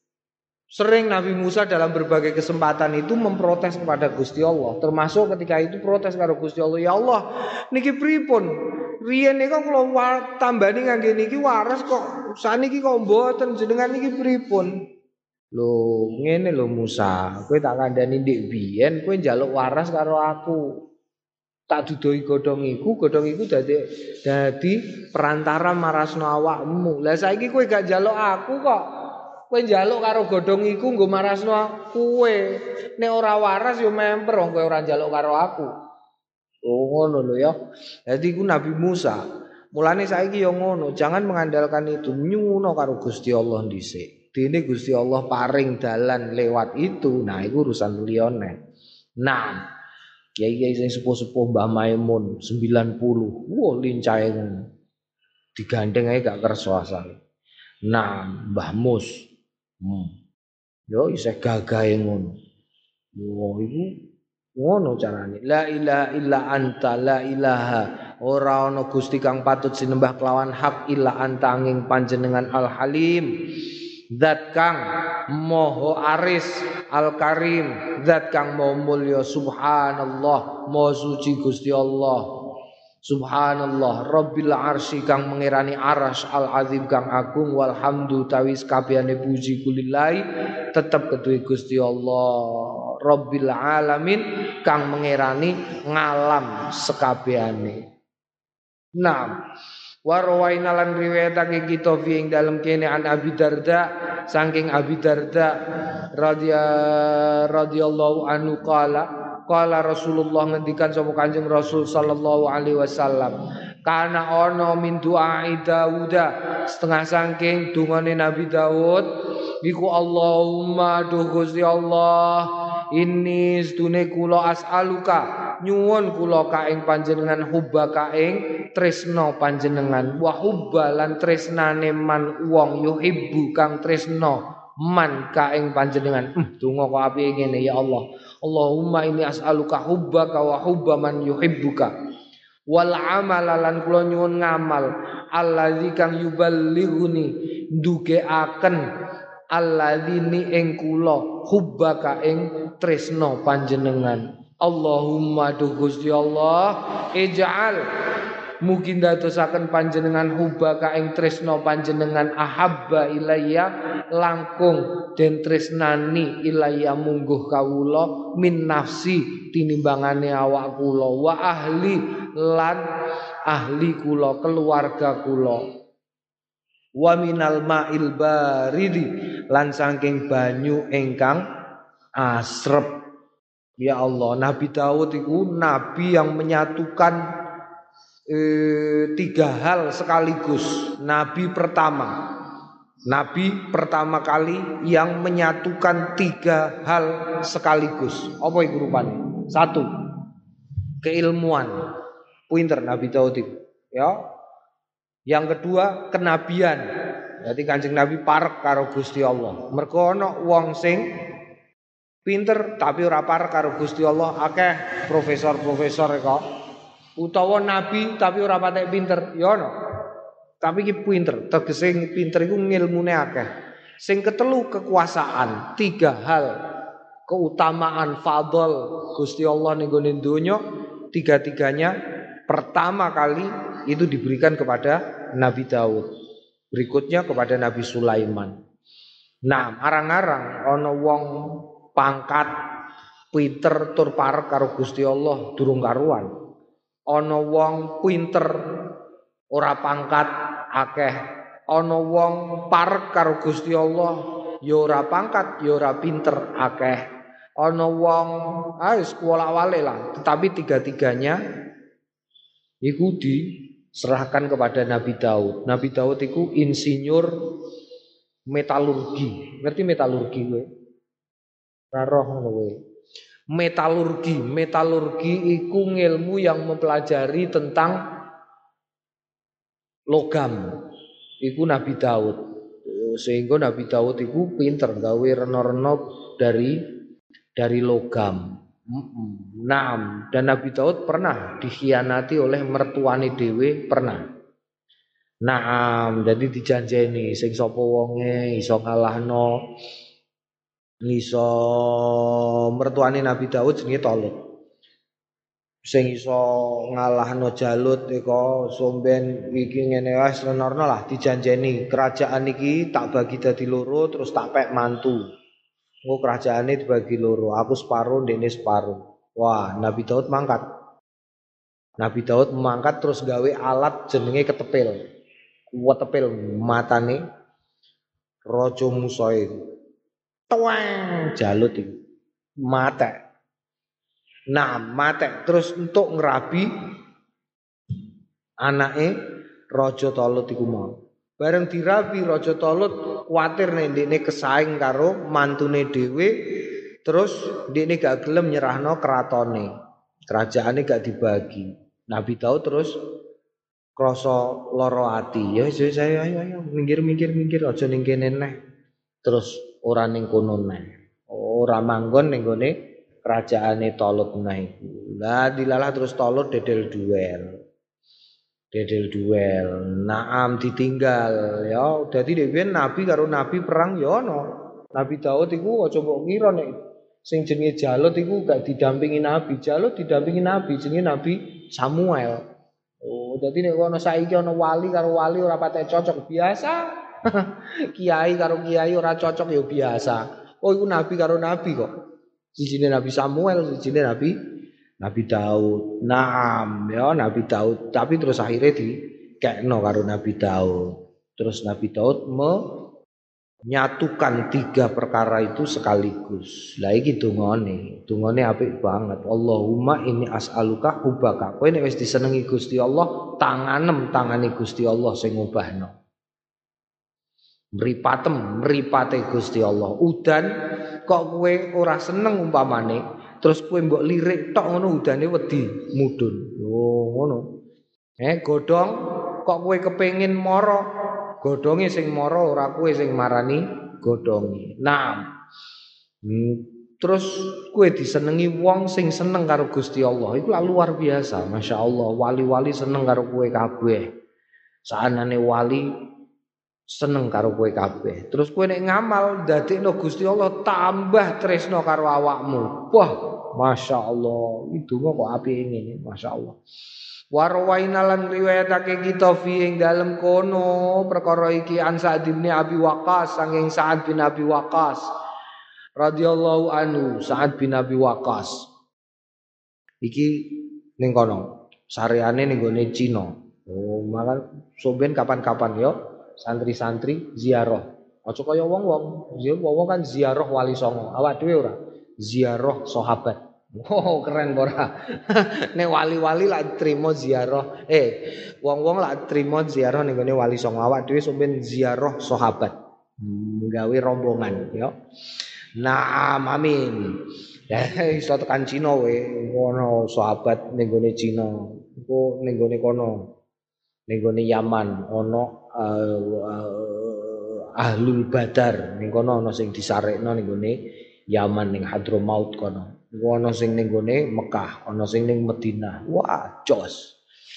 sering Nabi Musa dalam berbagai kesempatan itu memprotes kepada Gusti Allah. Termasuk ketika itu protes karo Gusti Allah, ya Allah, niki pripun? Riyen niku kula tambani ngangge niki waras kok saniki kok mboten, jenengan niki pripun? Lho, ngene lho Musa, kowe tak kandhani ndik biyen kowe njaluk waras karo aku. Tak dudoi godhong iku, godhong iku dadi dadi perantara marasno awakmu. Lah saiki kowe gak njaluk aku kok. Kowe njaluk karo godhong iku nggo marasno kowe. Nek ora waras yo memper wong kowe ora njaluk karo aku. Oh ngono lho ya. Dadi iku Nabi Musa. Mulane saiki yo ngono, jangan mengandalkan itu, nyuwun karo Gusti Allah dhisik. Dene Gusti Allah paring dalan lewat itu. Nah, iku urusan liyane. Nah, kiai-kiai sing sepuh-sepuh Mbah Maimun sembilan puluh. Wah, lincahe ngono. Digandeng ae gak kersa asale. Nah, Mbah Mus. Hmm. Yo isih gagahe ngono. Wah, iku ngono carane. La ilaha illa anta, la ilaha ora ana Gusti kang patut sinembah kelawan hak illa anta angin panjenengan Al Halim. Zat kang moho aris Al Karim, zat kang moho mulya subhanallah, moho suci Gusti Allah. Subhanallah Rabbil arsy kang mengirani aras Al azim kang agung, walhamdu tawis kabehane puji kulillahi tetep kedue Gusti Allah. Rabbil alamin kang mengirani ngalam sekabehane. Naam. Warwaina lan riwayatake kita fi ing dalem kene an Abi Darda saking Abi Darda radhiya radhiyallahu anhu qala qala Rasulullah ngendikan sapa Kanjeng Rasul sallallahu alaihi wasallam kana ana min du'ai Dauda setengah saking dungane Nabi Daud iku Allahumma duh Gusti Allah inni sedune kula as'aluka nyuwun kula ka ing panjenengan hubba ka ing tresna panjenengan wa hubba lan tresnane man wong yuhibbu kang tresna man ka ing panjenengan. Hmm, donga kok apike ngene ya Allah. Allahumma inni as'aluka hubbaka wa hubba man yuhibbuka wal amala lan kula nyuwun ngamal allazi kang yuballighuni ndugeaken alladzini ing kula hubbaka ing tresna panjenengan. Allahumma duh Gusti Allah ij'al mugi ndadosaken panjenengan hubbaka ing tresna panjenengan ahabba ilayya langkung den tresnani ilayya mungguh kawula min nafsi tinimbangane awak kula wa ahli lan ahli kula keluarga kula wa minal ma'il baridi lan saking banyu ingkang asrep. Ya Allah, Nabi Daud itu nabi yang menyatukan eh, tiga hal sekaligus. Nabi pertama, nabi pertama kali yang menyatukan tiga hal sekaligus. Apa itu rupanya? Satu, keilmuan. Pinter Nabi Daud itu. Ya. Yang kedua, kenabian. Jadi Kanjeng Nabi parek karo Gusti Allah. Mergo ana wong sing pinter tapi ora parek karo Gusti Allah, akeh profesor-profesor kok. Utawa nabi tapi ora patek pinter, ya ono. Tapi iki pinter, tegese pinter iku ngilmune akeh. Sing ketelu kekuasaan, tiga hal keutamaan fadl Gusti Allah ning gone donya, tiga-tiganya pertama kali itu diberikan kepada Nabi Daud. Berikutnya kepada Nabi Sulaiman. Nah, arang-arang ana wong pangkat pinter tur parek karo Gusti Allah durung karuan. Ana wong pinter ora pangkat akeh. Ana wong parek karo Gusti Allah ya ora pangkat ya ora pinter akeh. Ana wong ah wis kuwala-wale lah, tetapi tiga-tiganya iku diserahkan kepada Nabi Daud. Nabi Daud iku insinyur metalurgi. Ngerti metalurgi kowe? Ora roh ngono kowe. Metalurgi, metalurgi iku ilmu yang mempelajari tentang logam. Iku Nabi Daud. Sehingga Nabi Daud iku pinter gawe rena-rena dari dari logam. Naam, dan Nabi Daud pernah dikhianati oleh mertuane dhewe, pernah. Naam, jadi dijanjeni sing sapa wonge iso ngalahno iso mertuane Nabi Daud jenenge Talut. Sing iso ngalahno Jalut iku somben iki ngene wae renorno lah dijanjeni kerajaan iki tak bagi dadi loro terus tak pek mantu. Engko kerajaane dibagi loro, aku separo ndekne separo. Wah, Nabi Daud mangkat. Nabi Daud mangkat terus gawe alat jenenge ketepil. Ketepil matane Raja Musa iku. Tuang Jalut iku. Mate. Nah, mate terus untuk ngerabi anake Raja Talut iku mau. Bareng dirabi Raja Talut kuwatir nek ndekne kesaing karo mantune dhewe, terus ndekne gak gelem nyerahno keratone. Kerajaane gak dibagi. Nabi Daud terus krasa lara ati. Ya wis ayo ayo minggir-minggir-minggir aja ning kene neh. Terus ora ning kono neh. Ora manggon ning gone kerajaane Talut neh iku. Lah dilalah terus Talut dedel duel. Dedel duel, naam ditinggal ya. Dadi dhewe nabi karo nabi perang ya ana. Nabi Daud iku aja mbok ngira nek sing jenenge Jalut iku gak didampingi nabi. Jalut didampingi nabi, jenenge Nabi Samuel. Oh, dadi nek ana saiki ana wali karo wali ora patek cocok biasa. Kiai karo kiai ora cocok ya biasa. Oh iku nabi karo nabi kok. Sijine Nabi Samuel, sijine Nabi Nabi Daud. Naam ya Nabi Daud, tapi terus akhirnya dikekno karo Nabi Daud. Terus Nabi Daud menyatukan tiga perkara itu sekaligus. Lah iki dungane, dungane apik banget. Allahumma inni as'aluka hubaka. Kowe nek wis disenengi Gusti Allah, tanganem tangane Gusti Allah sing ngubahno. Mripatem mripate Gusti Allah. Udan kok kowe ora seneng umpamane terus kowe mbok lirik tok ngono udane wedi mudhun. Oh ngono. Eh godhong kok kowe kepengin mara, godhonge sing mara ora kowe sing marani godhonge. Nah. Hmm, terus kowe disenengi wong sing seneng karo Gusti Allah. Iku luar biasa, Masya Allah. Wali-wali seneng karo kowe kabeh. Saanane wali seneng karo kowe kabeh. Terus kowe nek ngamal dadekno Gusti Allah tambah tresno karo awakmu. Wah, Masya Allah, itu kok apik ngene, Masya Allah. Warwaina lan riwayatake kita fi ing dalem kono perkara iki an Sa'd bin Abi Waqqas saking Sa'd bin Abi Waqqas radhiyallahu anhu. Sa'd bin Abi Waqqas iki ning kono sareane ning gone Cina. Oh, malah soben kapan-kapan yo santri-santri ziarah. Aja kaya wong-wong, wong kan ziarah wali songo. Awak dhewe ora ziarah sahabat. Oh, keren ora. Nek wali-wali lak trimo ziarah. Eh, wong-wong lak trimo ziarah ning gone wali songo. Awak dhewe sampeyan ziarah sahabat. Nggawe rombongan ya. Naam amin. Ya iso tekan Cina we, ono sahabat ning gone Cina. Iku ning gone kono. Ning gone Yaman ono uh, uh, Ahlul Badar. Ning kono ono sing disarekno ning gone Yaman ning Hadramaut kono. Ono sing ning gone Mekah, ono sing ning Madinah. Wah, jos.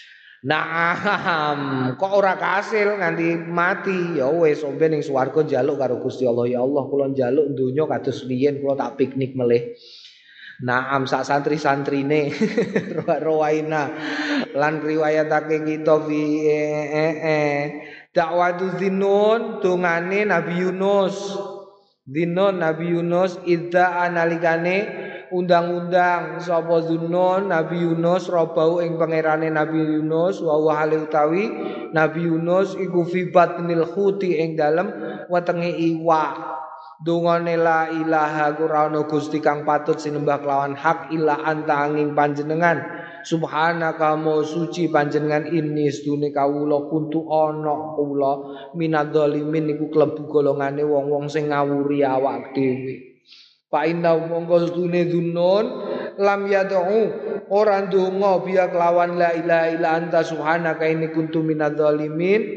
Naam, kok ora kasil nganti mati. Ya wis ombe ning swarga njaluk karo Gusti Allah. Ya Allah, kula njaluk donya kados riyen kula tak piknik melih. Naam sak santri-santrine Rawaina lan riwayatake kita fi eh eh dakwatu Zinnun dungane Nabi Yunus. Zinnun Nabi Yunus idza analikane undang-undang sapa Zunnun Nabi Yunus robau ing pangerane Nabi Yunus wa wa utawi Nabi Yunus iku fi batnil khuti ing dalem wetenge iwak. Dungane la ilaha ora ana gusti kang patut sinembah kelawan hak illa anta angin panjenengan subhanaka mo suci panjenengan ini sedune kawula kuntu ana kula minadzalimin niku klebu golongane wong-wong sing ngawuri awak dhewe. Fa inna monggo sedune dunun lam yad'u ora ndonga biya kelawan la ilaha illa anta subhanaka inni kuntu minadzalimin.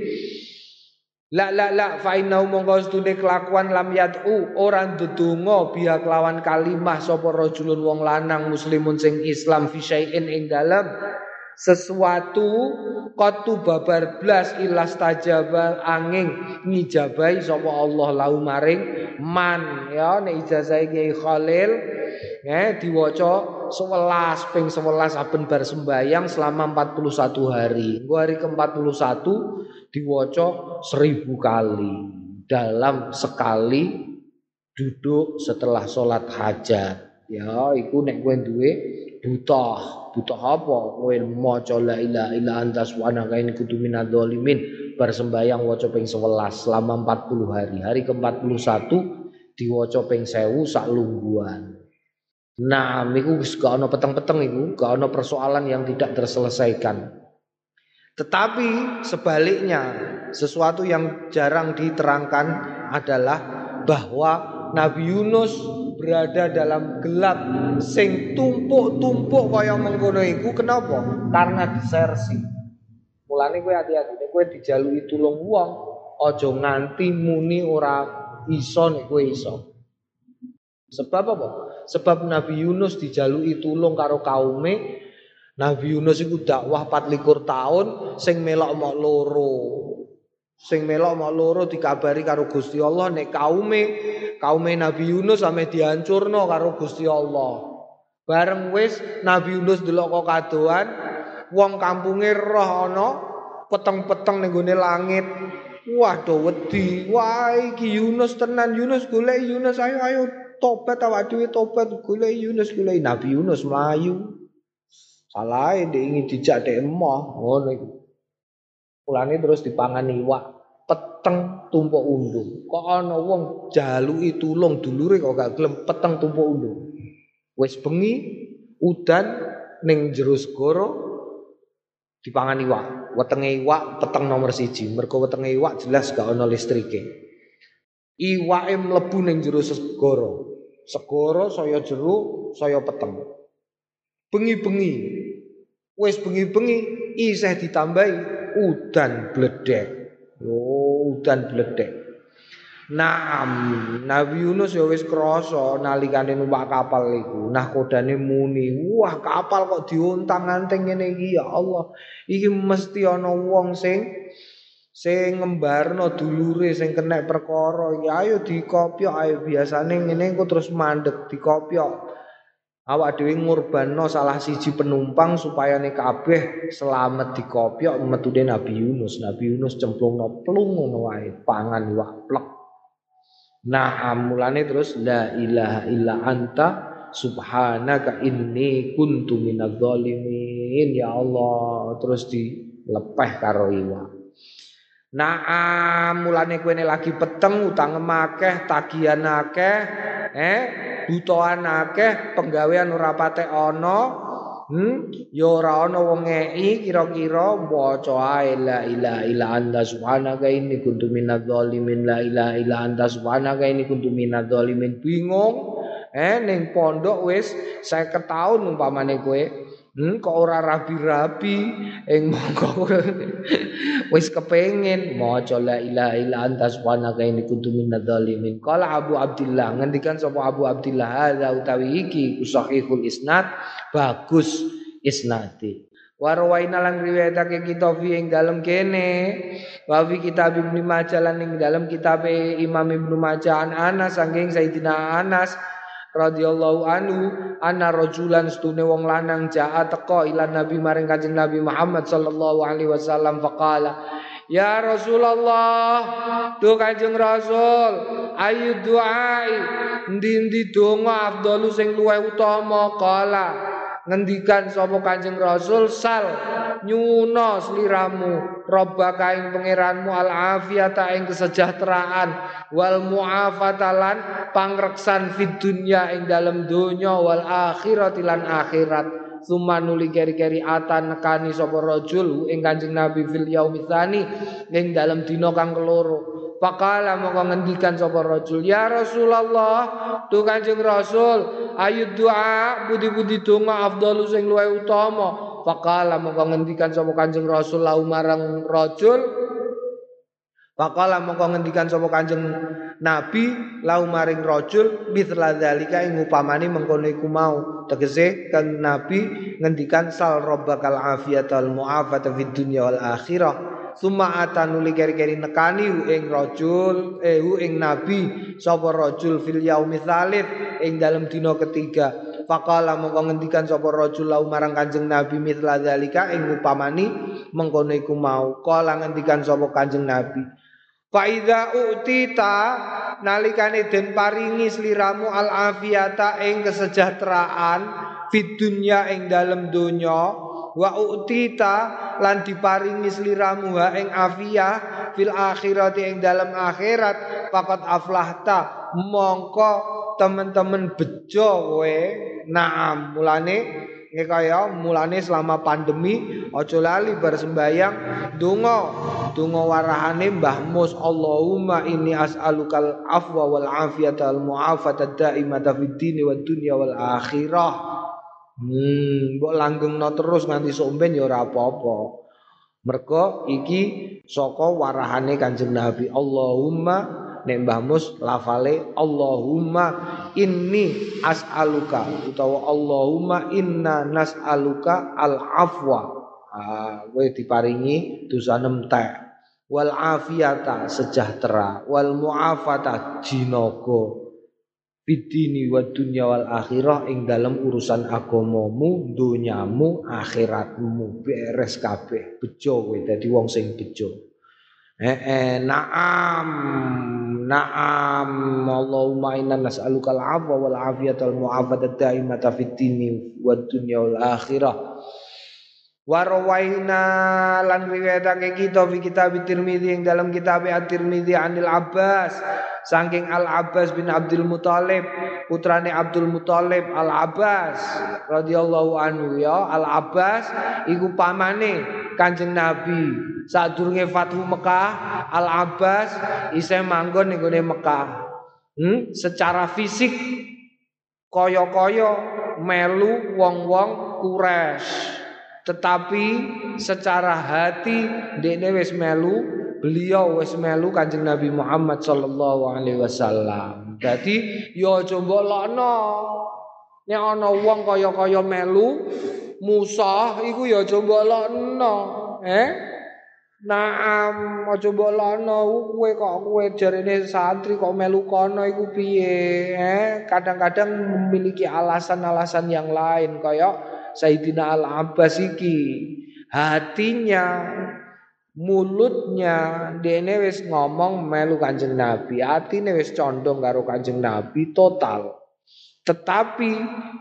La la la fa inna monggo sedune kelakuan lam yad'u ora ndedonga biya kelawan kalimah sapa rajulun wong lanang muslimun sing Islam fi syai'in ing dalem sesuatu qatu babar blas ilas tajabal angin ngijabahi sapa Allah lau maring man ya nek ijazah Kiai Khalil ya diwaca sewelas ping sewelas saben bar sembayang selama empat puluh satu hari. Engko hari ke empat puluh satu diwaca seribu kali dalam sekali duduk setelah sholat hajat. Ya, iku nek kowe duwe butuh, butuh apa? Kowe maca la ilaha illa anta subhanaka inni kuntu minadzalimin bar sembayang waca ping sewelas selama empat puluh hari. Hari ke empat puluh satu diwaca ping seribu sak lungguhan. Nah, iku wis gak ana peteng-peteng iku, gak ana persoalan yang tidak terselesaikan. Tetapi sebaliknya, sesuatu yang jarang diterangkan adalah bahwa Nabi Yunus berada dalam gelap sing tumpuk-tumpuk kaya mengkono iku. Kenapa? Karena disersi. Mulane kowe hati-hati nek kowe dijaluki tulung wong, aja nganti muni ora iso nek kowe iso. Sebab apa? Sebab Nabi Yunus dijaluki tulung karo kaume. Nabi Yunus iku dakwah empat likur tahun sing melok mok loro. Sing melok mok loro dikabari karo Gusti Allah nek kaume kaume Nabi Yunus ame dihancurno karo Gusti Allah. Bareng wis Nabi Yunus delok kok kadoan, wong kampunge roh ana peteng-peteng ning gone langit. Waduh wedi. Wah iki Yunus tenan, Yunus golek Yunus ayo ayo tobat awak dhewe tobat golek Yunus golek Nabi Yunus mlayu. Salahe ndek ingin dijak dek emoh ngono iku. Mulane terus dipangan iwak peteng tumpuk undung. Kok ana wong jaluki tulung dulure kok gak gelem peteng tumpuk undung. Wis bengi udan ning jero segara dipangan iwak. Wetenge iwak peteng nomor siji. Mergo wetenge iwak jelas gak ana listrike. Iwake mlebu ning jero segara. Segara saya jero, saya peteng. Bengi-bengi. Wis bengi-bengi isih ditambahi udan bledek. Oh, udan bledek. Nah, Nabi Yunus ya wis krasa nalikane numpak kapal iku. Nah, kodane muni, "Wah, kapal kok diontang-anting ngene iki ya Allah. Iki mesti ana wong sing sing ngembarno dulure sing kena perkara. Ya ayo dikopyok ayo biasane ngene engko terus mandeg dikopyok." Awak dhewe ngorbanno salah siji penumpang supaya nek kabeh selamat dikopyok metune Nabi Yunus. Nabi Yunus cemplungno plung ngono wae pangan iwak plek. Nah, mulane terus la ilaha illa anta subhanaka inni kuntu minadzalimin. Ya Allah, terus dilepeh karo iwak. Nah, mulane kowe lagi peteng utang akeh, tagihan akeh, eh butuhan akeh, penggawean ora patek ana. Hmm, ya ora ana wong ngeki kira-kira waca ae la ilaha illa anta subhanaka inni kuntu minadzalimin la ilaha illa anta subhanaka inni kuntu minadzalimin. Bingung eh ning pondok wis seket taun umpamane kowe hmm, kok ora rabi-rabi ing mongko wis kepengin maca la ilaha illa anta subhanaka inni kuntu minadzalimin. Qala Abu Abdillah ngendikan sapa Abu Abdillah hadza utawi iki sahihul isnad bagus isnadi. Warwaina lan riwayatake kita fi ing dalem kene wa fi kitab Ibnu Majah lan ing dalem kitab Imam Ibnu Majah an Anas saking Sayyidina Anas radhiyallahu anhu anna rajulan stune wong lanang jaa teka ila Nabi maring Kanjeng Nabi Muhammad sallallahu alaihi wasallam faqala ya Rasulullah tu Kanjeng Rasul ayu duai ndi-ndi donga afdalu sing luwih utama kala ngendikan sapa Kanjeng Rasul sal nyuno sliramu rabbaka ing pangeranmu al afiyata ing kesejahteraan wal muafatalan pangreksan fid dunya ing dalem donya wal akhirati lan akhirat summa nuli keri-keri atan nekani sapa rajul ing Kanjeng Nabi fil yaumitsani ing dalem dina kang keloro Pakala mongko ngendikan sapa rajul ya Rasulullah tu Kanjeng Rasul ayu doa budi-budi donga afdalu sing luwih utama Pakala mongko ngendikan sapa Kanjeng Rasul lau marang rajul Pakala mongko ngendikan sapa Kanjeng Nabi lau maring rajul mithla dzalika ing upamane mengkono iku mau tegese kan Nabi ngendikan sal rabbakal afiyatal muafata fid dunya wal akhirah summa atanuli keri-keri nekani hu ing rajul eh hu ing nabi sapa rajul fil yaumi tsalits ing dalem dina ketiga faqala mongko ngendikan sapa rajul lau marang Kanjeng Nabi mithla zalika ing upamani mengkono iku mau kala ngendikan sapa Kanjeng Nabi fa iza utita nalikane den paringi sliramu al afiyata ing kesejahteraan fid dunya ing dalem donya wa utita lan diparingi sliramu ha ing afiyah fil akhirati ing dalam akhirat faqad aflahta mongko temen-temen bejo kowe naam mulane kaya mulane selama pandemi aja lali bar sembayang donga donga warahane Mbah Mus Allahumma inni as'alukal afwa wal afiyata al muafata daimata fid dini wad dunya wal akhirah. Hmm, mbok langgengno terus nganti sok ben ya ora apa-apa. Mergo iki saka warahane Kanjeng Nabi. Allahumma nek Mbah Mus lafale Allahumma inni as'aluka utawa Allahumma inna nas'aluka al-afwa. Ah, kowe diparingi dosa entek. Wal afiyata sejahtera, wal muafata jinaga. Bidini wa dunya wal akhirah ing dalam urusan agamamu, dunyamu, akhiratmu beres kabeh, bejo kowe dadi wong sing bejo. Eh, eh naam naam Allahumma inna nas'aluka al-'afwa wal 'afiyata wal mu'afata daimata fid dini wad dunya wal akhirah. Warwaina lan riwayatake kita fi kitab Tirmidzi ing dalam kitab At-Tirmidzi Anil Abbas saking Al Abbas bin Abdul Muthalib putrane Abdul Muthalib Al Abbas radhiyallahu anhu ya Al Abbas iku pamane Kanjeng Nabi sadurunge Fathu Mekah Al Abbas isih manggon ning gone Mekah hmm? Secara fisik kaya-kaya melu wong-wong Quraisy tetapi secara hati dekne wis melu beliau wis melu Kanjeng Nabi Muhammad sallallahu alaihi wasallam. Dadi ya aja mbok lokno. Nek ana wong kaya-kaya melu Musa iku ya aja mbok lokno, eh? Naam aja mbok lokno kowe kok kowe jarene santri kok melu kono iku piye, eh? Kadang-kadang memiliki alasan-alasan yang lain kaya Sayyidina Al-Abbas iki hatinya mulutnya dene wis ngomong melu Kanjeng Nabi atine wis condong karo Kanjeng Nabi total tetapi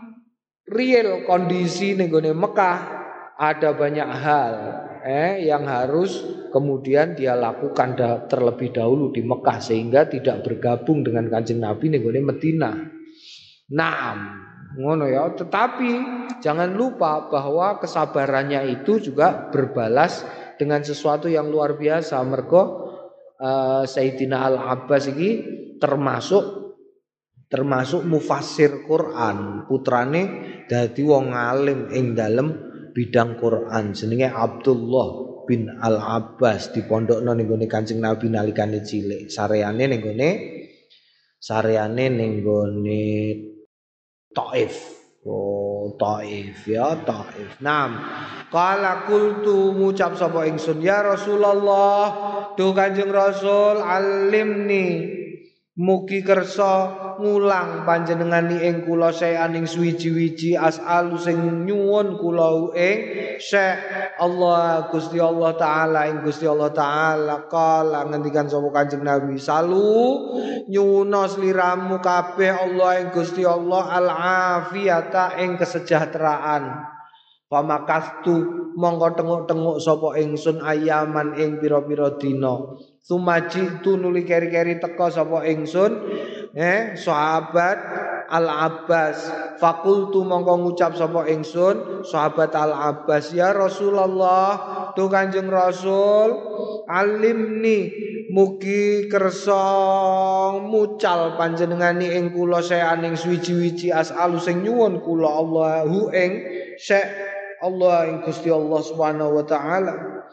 real kondisi ning gone Mekah ada banyak hal eh yang harus kemudian dia lakukan da- terlebih dahulu di Mekah sehingga tidak bergabung dengan Kanjeng Nabi ning gone Madinah. Naam ngono ya, tetapi jangan lupa bahwa kesabarannya itu juga berbalas dengan sesuatu yang luar biasa. Mergo uh, Sayyidina Al-Abbas ini termasuk termasuk mufassir Quran, putrane dadi wong alim ing dalem bidang Quran. Jenenge Abdullah bin Al-Abbas dipondhokno ning gone Kanjeng Nabi nalikane cilik. Sareane ning gone sareane ning gone Taif Oh, Taif ya, Taif. Naam. Qala qultu ngucap sapa ingsun ya Rasulullah, duh Kanjeng Rasul alimni mugi kersa ngulang panjenengani ing kula saeaning suwiji-wiji as'alu sing nyuwun kula ing syekh Allah Gusti Allah taala ing Gusti Allah taala kala ngendikan sapa Kanjeng Nabi salu nyuwuna sliramu kabeh Allah ing Gusti Allah al afiyata ing kesejahteraan. Pamakastu mongko tenguk-tenguk sapa ingsun ayaman ing pira-pira dina. Sumaji tu nuli keri-keri teka sapa ingsun eh sahabat Al Abbas. Fakultu mongko ngucap sapa ingsun sahabat Al Abbas ya Rasulullah tu Kanjeng Rasul alimni mugi kersa mucal panjenengani ing kula saeaning suwiji-wiji as'alu sing nyuwun kula Allahu ing syekh Allah ing Gusti Allah Subhanahu wa taala.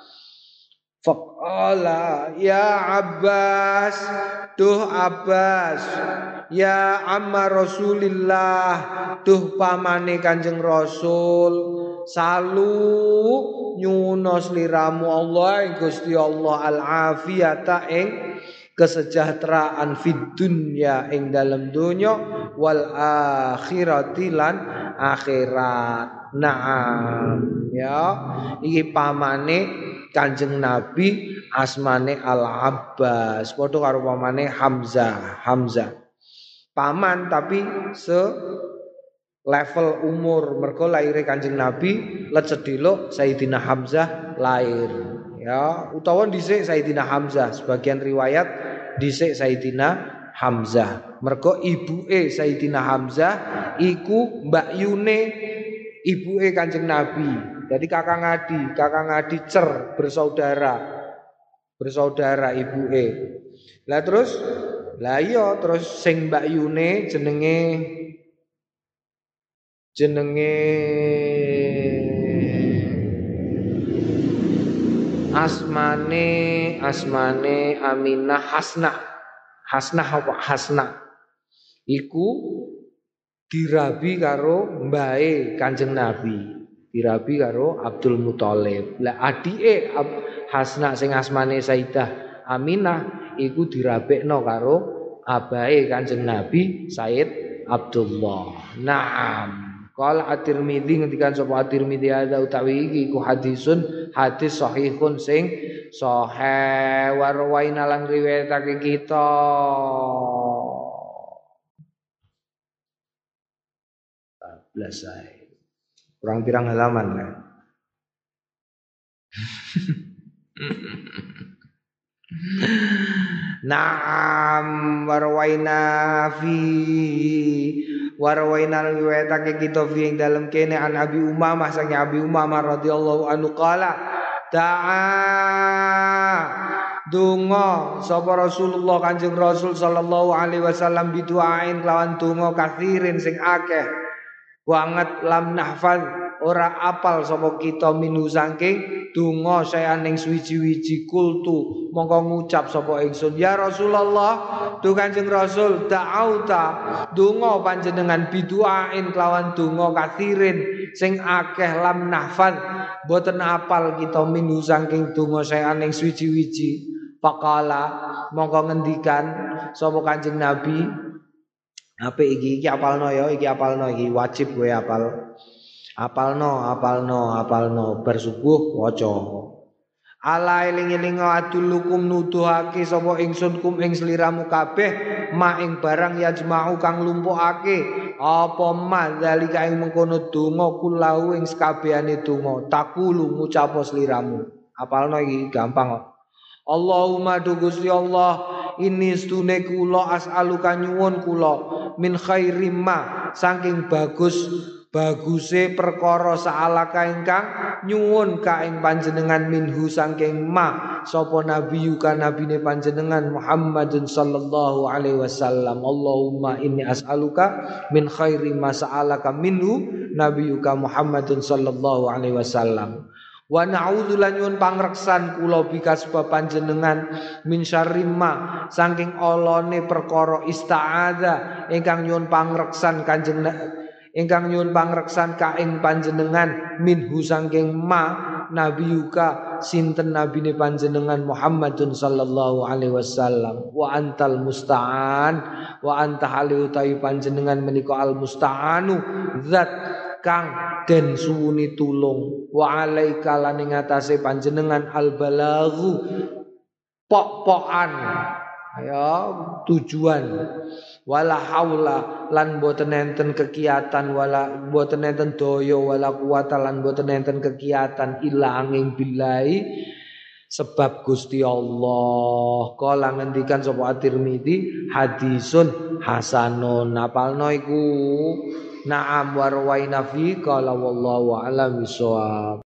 Faqala ya Abbas duh Abbas ya amma Rasulillah duh pamane Kanjeng Rasul salu nyuwuna sliramu Allah ing Gusti Allah al afiyata ing kesejahteraan fid dunya ing dalam dunya wal akhirati lan akhirat. Naam ya iki pamane Kanjeng Nabi asmane Al Abbas padha karo pamane Hamzah Hamzah paman tapi se level umur mergo laire Kanjeng Nabi lecedhiluk Sayyidina Hamzah lair ya utawa dhisik Sayyidina Hamzah sebagian riwayat dhisik Sayyidina Hamzah mergo ibuke Sayyidina Hamzah iku Mbak Yune ibuke Kanjeng Nabi. Jadi kakang adi, kakang adi cer bersaudara. Bersaudara ibuke. Lah terus lah iya terus sing Mbak Yune jenenge jenenge asmane asmane Aminah Hasna. Hasnah apa Hasna? Iku dirabi karo mbae Kanjeng Nabi, dirabi karo Abdul Muthalib. Lah adike Hasna sing asmane Sayyidah Aminah iku dirabekno karo abahe Kanjeng Nabi Sayyid Abdullah. Naam. Qala At-Tirmidzi ngendikan sapa At-Tirmidzi ada utawi iki iku hadisun hadis sahihun sing sahih warwaina lan riwayatake kita. Belasai kurang pirang halaman kan Naam warwaina fi warwaina riwayatake kita fi ing dalem kene an Abi Umamah sang Abi Umamah radhiyallahu anhu qala ta'a donga sapa Rasulullah Kanjeng Rasul sallallahu alaihi wasallam biduain lawan donga kathirin sing akeh banget lam nahfal ora apal sapa kita minu saking donga sayaning suwiji-wiji kultu mongko ngucap sapa ingsun ya Rasulullah duh Kanjeng Rasul da'auta donga panjenengan biduain kelawan donga kathirin sing akeh lam nahfal boten apal kita minu saking donga sayaning suwiji-wiji faqala mongko ngendikan sapa Kanjeng Nabi apa iki iki apalno ya iki apalno iki wajib kowe apal apalno apalno apalno bar subuh waca ala eling-eling adulukum nuduhake sapa ingsun kum ing sliramu kabeh ma ing barang yajma'u kang lumpukake apa ma zalika ing mengkono donga kulau ing sakabehane donga takulu ngucap sliramu apalno iki gampang kok Allahumma du Gusti Allah ini stune kula as'aluka nyuwun kula min khairi ma saking bagus baguse perkara sa'alaka ingkang nyuwun ka ing panjenengan minhu saking ma sapa nabiyuka nabine panjenengan Muhammadun sallallahu alaihi wasallam Allahumma inni as'aluka min khairi ma sa'alaka minhu nabiyuka Muhammadun sallallahu alaihi wasallam wa na'udzu lan nyuwun pangreksan kula bika sebab panjenengan min syarri ma saking olone perkara ista'adza ingkang nyuwun pangreksan kanjeng ingkang nyuwun pangreksan ka ing panjenengan minhu sangking ma nabiyuka sinten nabine panjenengan Muhammadun sallallahu alaihi wasallam wa antal musta'an wa anta haliu ta'i panjenengan menika al musta'anu zat kang den suwuni tulung wa alaika lan ing atase panjenengan al balaghu pok-pokan ya tujuan wala haula lan boten enten kegiatan wala boten enten daya wala kuwata lan boten enten kegiatan illa angin billahi sebab Gusti Allah. Kala ngendikan sapa At-Tirmidzi hadisun hasanun napalno iku na'am warwaina fi qala wallahu a'lam bissawab.